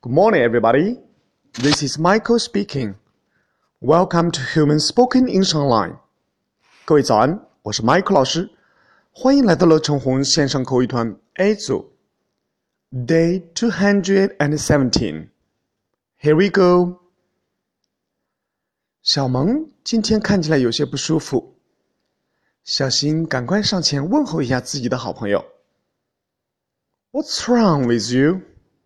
Good morning, everybody. This is Michael speaking. Welcome to Human Spoken English Online. 各位早安，我是 Michael 老师，欢迎来到乐成红线上口语团 A 组 Day 217. Here we go. 小萌今天看起来有些不舒服，小新赶快上前问候一下自己的好朋友。What's wrong with you?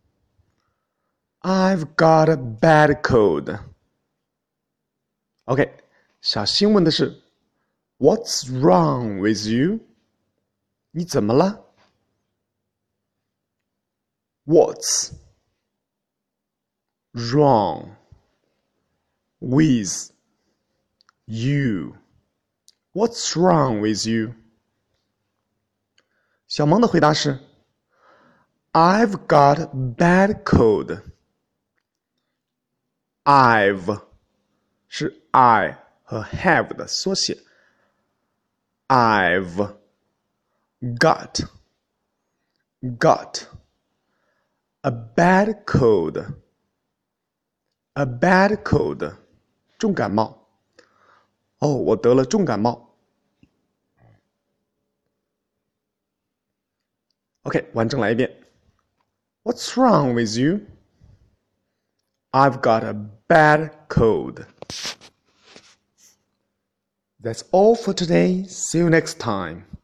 I've got a bad cold. OK, 小新问的是 What's wrong with you? 你怎么了？ What's wrong with you? What's wrong with you? 小萌的回答是 I've got a bad cold. I've 是 I 和 have 的缩写。I've got a bad cold. A bad cold. 重感冒。哦，我得了重感冒。OK, 完整来一遍。What's wrong with you? I've got a bad cold. That's all for today. See you next time.